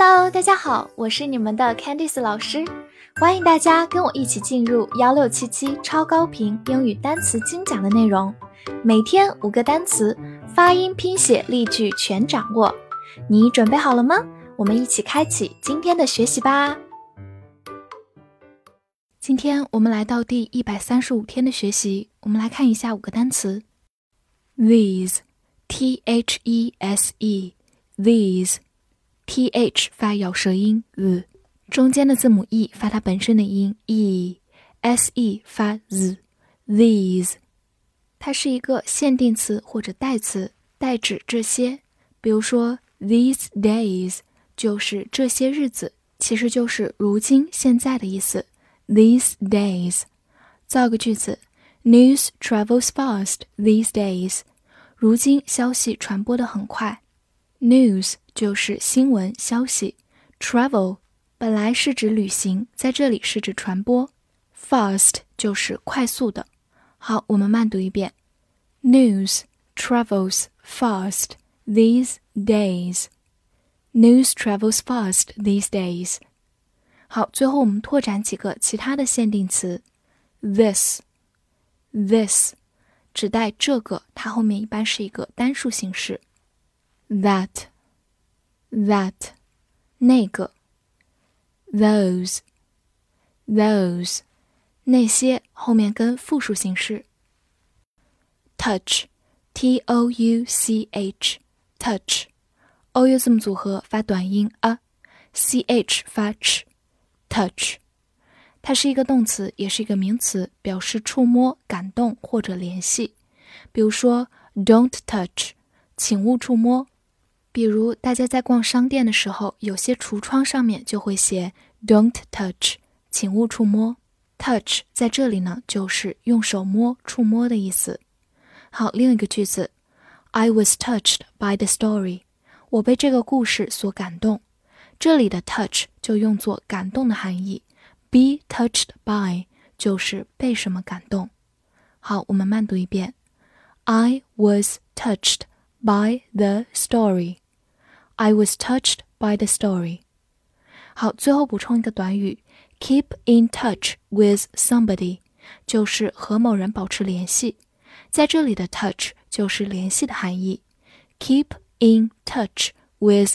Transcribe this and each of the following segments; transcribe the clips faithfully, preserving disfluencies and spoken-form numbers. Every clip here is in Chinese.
Hello， 大家好，我是你们的 Candice 老师，欢迎大家跟我一起进入一六七七超高频英语单词精讲的内容，每天五个单词，发音、拼写、例句全掌握。你准备好了吗？我们一起开启今天的学习吧。今天我们来到第一百三十五天的学习，我们来看一下五个单词。These, T H E S E, these, T H 发咬舌音 z， 中间的字母 e 发它本身的音 e， S E 发 z， these， 它是一个限定词或者代词，代指这些，比如说 these days 就是这些日子，其实就是如今现在的意思。These days， 造个句子 News travels fast these days， 如今消息传播得很快。 News 就是新闻消息， Travel 本来是指旅行，在这里是指传播， Fast 就是快速的。好，我们慢读一遍 News travels fast these days， News travels fast these days。好，最后我们拓展几个其他的限定词 This This 指代这个，它后面一般是一个单数形式。 That That 那个。 Those Those 那些，后面跟复数形式。 Touch T O U C H Touch O U 字母组合发短音 a， C H 发 ch Touch， 它是一个动词，也是一个名词，表示触摸、感动或者联系。比如说 Don't touch， 请勿触摸。比如大家在逛商店的时候，有些橱窗上面就会写 Don't touch， 请勿触摸。 Touch 在这里呢，就是用手摸、触摸的意思。好，另一个句子 I was touched by the story， 我被这个故事所感动。这里的 touch 就用作感动的含义， be touched by 就是被什么感动。好，我们慢读一遍 I was touched by the story， I was touched by the story。 好，最后补充一个短语 keep in touch with somebody， 就是和某人保持联系，在这里的 touch 就是联系的含义， keep in touch with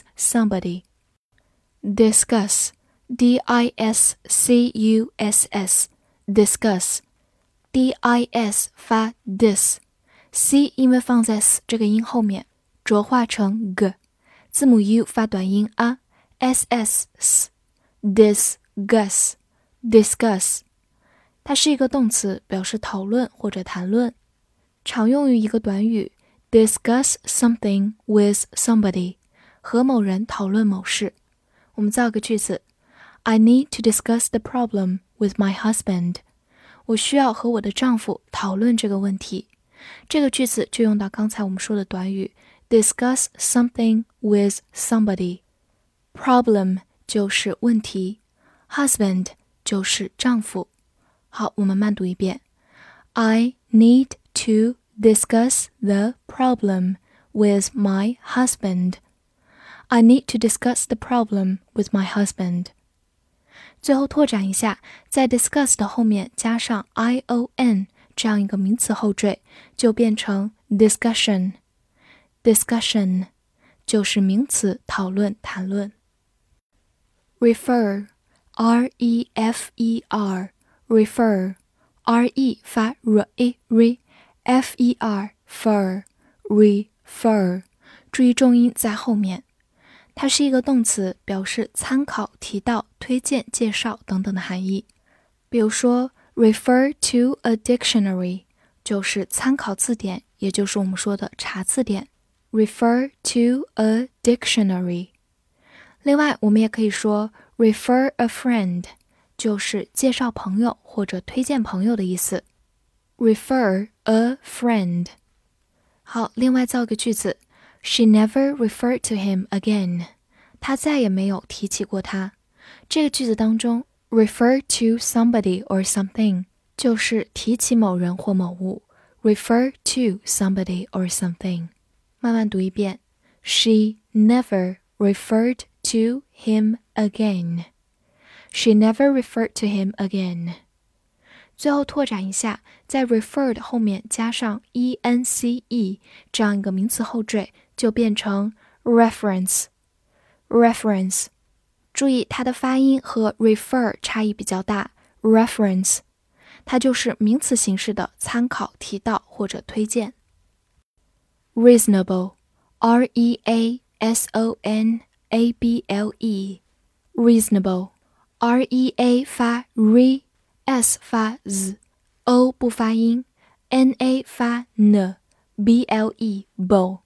somebody。Discuss D I S C U S S Discuss D I S 发 dis， C 因为放在 s 这个音后面浊化成 g， 字母 u 发短音 a， S S S Discuss Discuss 它是一个动词，表示讨论或者谈论，常用于一个短语 discuss something with somebody， 和某人讨论某事。我们造个句子 I need to discuss the problem with my husband， 我需要和我的丈夫讨论这个问题。这个句子就用到刚才我们说的短语 discuss something with somebody。 Problem 就是问题， husband 就是丈夫。好，我们慢读一遍 I need to discuss the problem with my husband。I need to discuss the problem with my husband。 最后拓展一下，在 discuss 的后面加上 I O N 这样一个名词后缀，就变成 discussion。 discussion 就是名词，讨论、谈论。 refer R E F E R refer R E 发 r e re F E R fer refer， 注意重音在后面。它是一个动词，表示参考、提到、推荐、介绍等等的含义。比如说 refer to a dictionary 就是参考字典，也就是我们说的查字典。 refer to a dictionary。 另外我们也可以说 refer a friend 就是介绍朋友或者推荐朋友的意思。 refer a friend。 好，另外造个句子She never referred to him again。 她再也没有提起过他。这个句子当中 refer to somebody or something 就是提起某人或某物， refer to somebody or something。 慢慢读一遍 She never referred to him again. She never referred to him again. 最后拓展一下，在 referred 后面加上 ence 这样一个名词后缀，就变成 reference. reference. 注意它的发音和 refer 差异比较大， reference. 它就是名词形式的参考、提到或者推荐。Reasonable, R E A S O N A B L E, reasonable, R E A 发 re, S 发 z, O 不发音， N A 发 n, B L E, ble,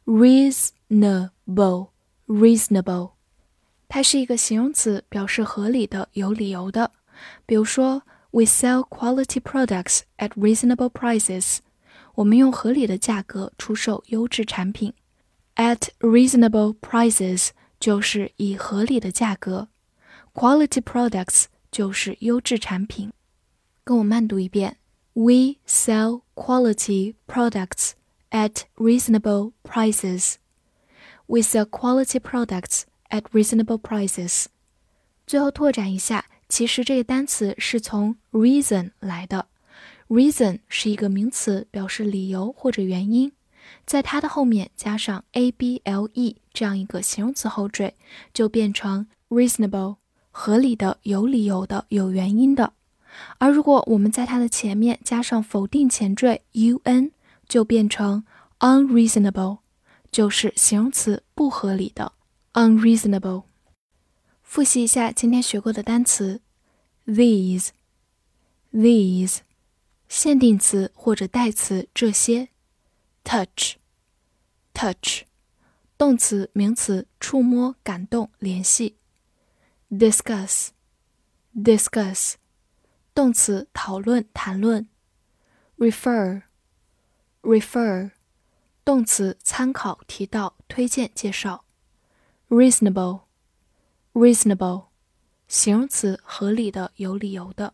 reasonable, reasonable. 它是一个形容词，表示合理的、有理由的。比如说We sell quality products at reasonable prices. 我们用合理的价格出售优质产品。At reasonable prices 就是以合理的价格。Quality products 就是优质产品。跟我慢读一遍。We sell quality products at reasonable prices. We sell quality products at reasonable prices. 最后拓展一下，其实这个单词是从 reason 来的。reason 是一个名词，表示理由或者原因，在它的后面加上 able 这样一个形容词后缀，就变成 reasonable, 合理的、有理由的、有原因的。而如果我们在它的前面加上否定前缀 un， 就变成 unreasonable, 就是形容词不合理的 unreasonable。复习一下今天学过的单词 these, these, 限定词或者代词这些 touch, touch, 动词名词触摸感动联系 discuss, discuss, 动词讨论谈论 refer, refer, 动词参考提到推荐介绍 reasonable, reasonable, 形容词合理的有理由的。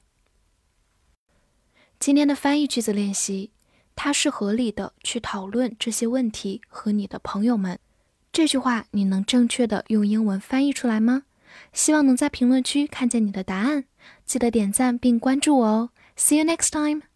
今天的翻译句子练习，它是合理的去讨论这些问题和你的朋友们。这句话你能正确的用英文翻译出来吗？希望能在评论区看见你的答案，记得点赞并关注我哦。See you next time!